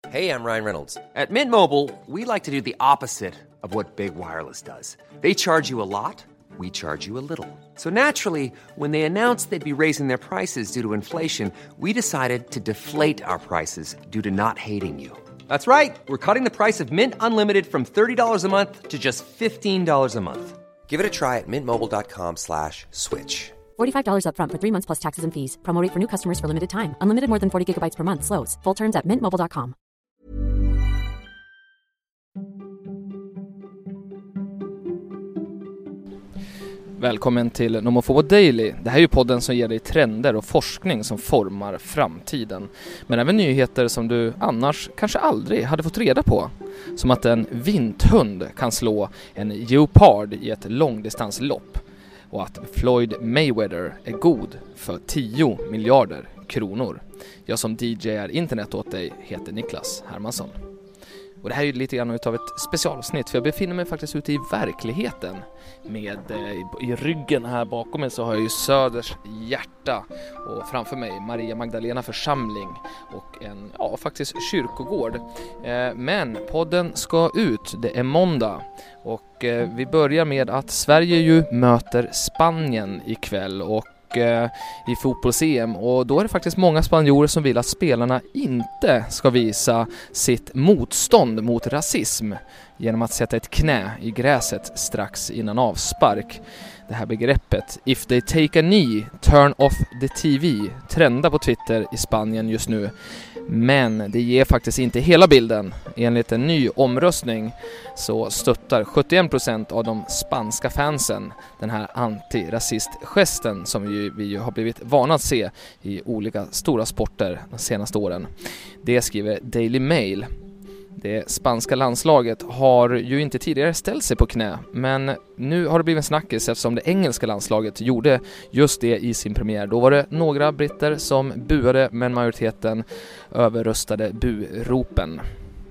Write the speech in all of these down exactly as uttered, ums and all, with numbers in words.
Hey, I'm Ryan Reynolds. At Mint Mobile, we like to do the opposite of what Big Wireless does. They charge you a lot, we charge you a little. So naturally, when they announced they'd be raising their prices due to inflation, we decided to deflate our prices due to not hating you. That's right. We're cutting the price of Mint Unlimited from thirty dollars a month to just fifteen dollars a month. Give it a try at mintmobile.com slash switch. forty-five dollars up front for three months plus taxes and fees. Promo rate for new customers for limited time. Unlimited more than forty gigabytes per month. Slows full terms at mint mobile dot com. Välkommen till Nomofobo Daily. Det här är ju podden som ger dig trender och forskning som formar framtiden. Men även nyheter som du annars kanske aldrig hade fått reda på. Som att en vinthund kan slå en geopard i ett långdistanslopp. Och att Floyd Mayweather är god för tio miljarder kronor. Jag som D J är internet åt dig heter Niklas Hermansson. Och det här är ju lite grann utav ett specialavsnitt, för jag befinner mig faktiskt ute i verkligheten. Med eh, i ryggen här bakom mig så har jag ju Söders hjärta och framför mig Maria Magdalena församling och en, ja faktiskt kyrkogård. Eh, men podden ska ut, det är måndag och eh, vi börjar med att Sverige ju möter Spanien ikväll och i fotbolls-E M, och då är det faktiskt många spanjorer som vill att spelarna inte ska visa sitt motstånd mot rasism genom att sätta ett knä i gräset strax innan avspark. Det här begreppet "if they take a knee, turn off the T V" trendar på Twitter i Spanien just nu. Men det ger faktiskt inte hela bilden. Enligt en ny omröstning så stöttar sjuttioen procent av de spanska fansen den här antirasistgesten som vi, vi har blivit vana att se i olika stora sporter de senaste åren. Det skriver Daily Mail. Det spanska landslaget har ju inte tidigare ställt sig på knä, men nu har det blivit en snackis eftersom det engelska landslaget gjorde just det i sin premiär. Då var det några britter som buade, men majoriteten överröstade buropen.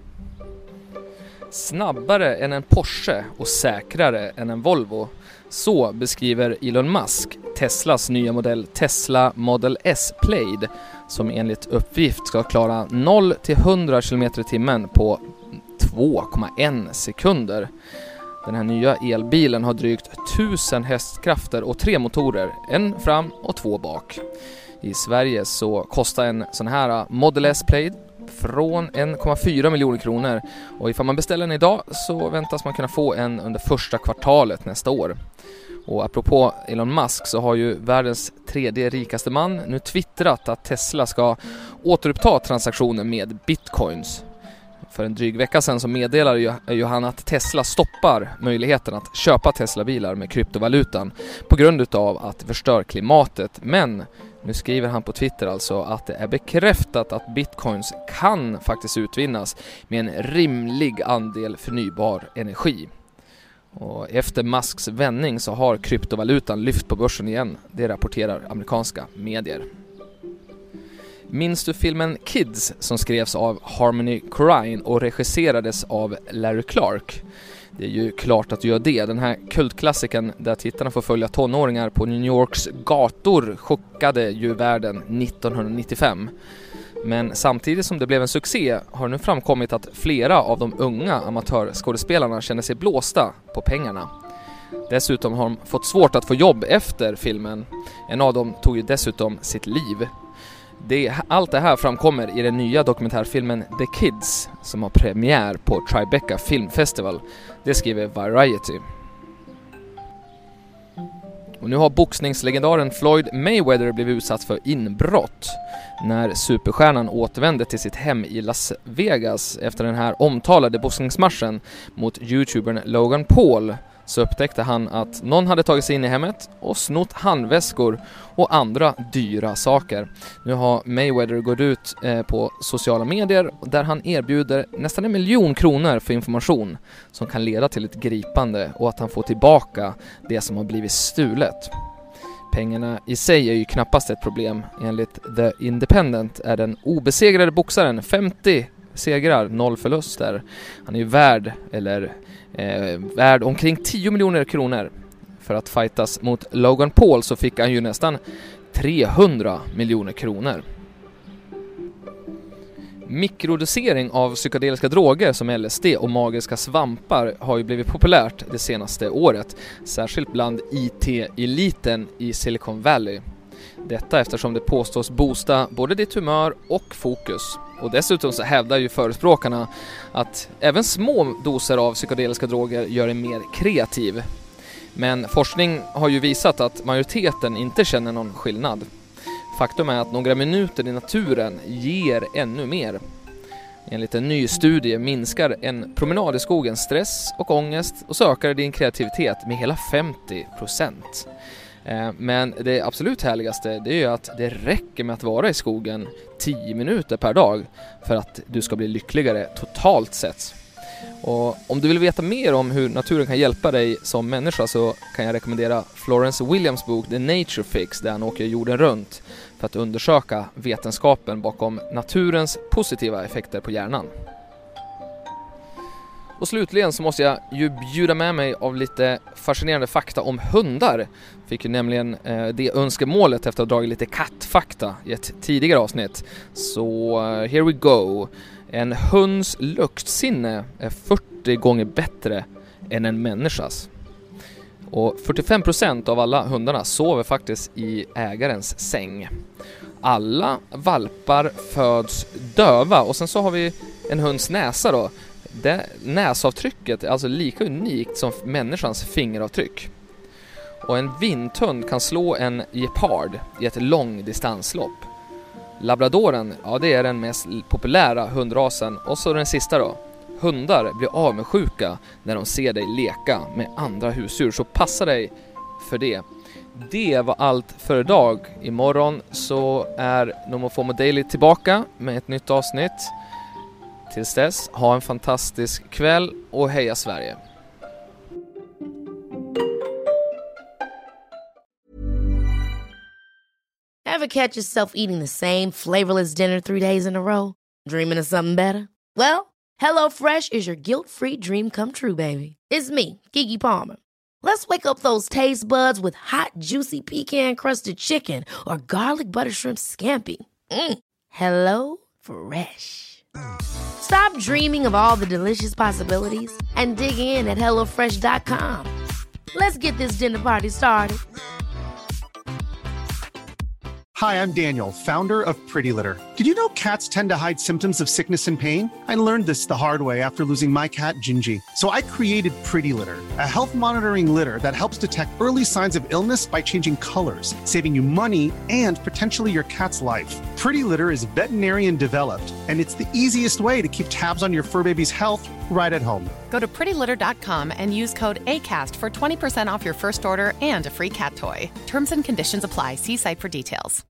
Snabbare än en Porsche och säkrare än en Volvo. Så beskriver Elon Musk Teslas nya modell Tesla Model S Plaid, som enligt uppgift ska klara noll till hundra kilometer i timmen på två komma en sekunder. Den här nya elbilen har drygt tusen hästkrafter och tre motorer, en fram och två bak. I Sverige så kostar en sån här Model S Plaid från en komma fyra miljoner kronor, och ifall man beställer den idag så väntas man kunna få en under första kvartalet nästa år. Och apropå Elon Musk så har ju världens tredje rikaste man nu twittrat att Tesla ska återuppta transaktioner med bitcoins. För en dryg vecka sedan så meddelar ju, ju han att Tesla stoppar möjligheten att köpa Tesla-bilar med kryptovalutan på grund av att det förstör klimatet. Men nu skriver han på Twitter alltså att det är bekräftat att bitcoins kan faktiskt utvinnas med en rimlig andel förnybar energi. Och efter Musks vändning så har kryptovalutan lyft på börsen igen. Det rapporterar amerikanska medier. Minns du filmen Kids som skrevs av Harmony Korine och regisserades av Larry Clark? Det är ju klart att du gör det. Den här kultklassiken där tittarna får följa tonåringar på New Yorks gator chockade ju världen nittonhundranittiofem. Men samtidigt som det blev en succé har nu framkommit att flera av de unga amatörskådespelarna känner sig blåsta på pengarna. Dessutom har de fått svårt att få jobb efter filmen. En av dem tog ju dessutom sitt liv. Det, allt det här framkommer i den nya dokumentärfilmen The Kids som har premiär på Tribeca Film Festival. Det skriver Variety. Och nu har boxningslegendaren Floyd Mayweather blivit utsatt för inbrott när superstjärnan återvände till sitt hem i Las Vegas efter den här omtalade boxningsmatchen mot YouTubern Logan Paul. Så upptäckte han att någon hade tagit sig in i hemmet och snott handväskor och andra dyra saker. Nu har Mayweather gått ut eh, på sociala medier där han erbjuder nästan en miljon kronor för information som kan leda till ett gripande och att han får tillbaka det som har blivit stulet. Pengarna i sig är ju knappast ett problem. Enligt The Independent är den obesegrade boxaren femtio segrar, noll förluster. Han är ju värd, eller eh, värd omkring tio miljoner kronor. För att fightas mot Logan Paul så fick han ju nästan trehundra miljoner kronor. Mikrodosering av psykedeliska droger som L S D och magiska svampar har ju blivit populärt det senaste året, särskilt bland I T-eliten i Silicon Valley. Detta eftersom det påstås boosta både ditt humör och fokus. Och dessutom så hävdar ju förespråkarna att även små doser av psykedeliska droger gör en mer kreativ. Men forskning har ju visat att majoriteten inte känner någon skillnad. Faktum är att några minuter i naturen ger ännu mer. Enligt en ny studie minskar en promenad i skogen stress och ångest och så ökar din kreativitet med hela femtio procent. Men det absolut härligaste det är ju att det räcker med att vara i skogen tio minuter per dag för att du ska bli lyckligare totalt sett. Och om du vill veta mer om hur naturen kan hjälpa dig som människa så kan jag rekommendera Florence Williams bok The Nature Fix där han åker jorden runt för att undersöka vetenskapen bakom naturens positiva effekter på hjärnan. Och slutligen så måste jag ju bjuda med mig av lite fascinerande fakta om hundar. Fick ju nämligen eh, det önskemålet efter att ha dragit lite kattfakta i ett tidigare avsnitt. Så uh, here we go. En hunds luktsinne är fyrtio gånger bättre än en människas. Och fyrtiofem procent av alla hundarna sover faktiskt i ägarens säng. Alla valpar föds döva och sen så har vi en hunds näsa då. Det näsavtrycket är alltså lika unikt som människans fingeravtryck. Och en vinthund kan slå en gepard i ett långdistanslopp. Labradoren, ja det är den mest populära hundrasen. Och så den sista då. Hundar blir avundsjuka när de ser dig leka med andra husdjur. Så passa dig för det. Det var allt för idag. Imorgon så är NomoFomo Daily tillbaka med ett nytt avsnitt. Tills dess, ha en fantastisk kväll och heja Sverige! Ever catch yourself eating the same flavorless dinner three days in a row? Dreaming of something better? Well, HelloFresh is your guilt-free dream come true, baby. It's me, Keke Palmer. Let's wake up those taste buds with hot, juicy pecan-crusted chicken or garlic butter shrimp scampi. Mm. Hello Fresh. Stop dreaming of all the delicious possibilities and dig in at hello fresh dot com. Let's get this dinner party started. Hi, I'm Daniel, founder of Pretty Litter. Did you know cats tend to hide symptoms of sickness and pain? I learned this the hard way after losing my cat, Gingy. So I created Pretty Litter, a health monitoring litter that helps detect early signs of illness by changing colors, saving you money and potentially your cat's life. Pretty Litter is veterinarian developed, and it's the easiest way to keep tabs on your fur baby's health right at home. Go to pretty litter dot com and use code ACAST for twenty percent off your first order and a free cat toy. Terms and conditions apply. See site for details.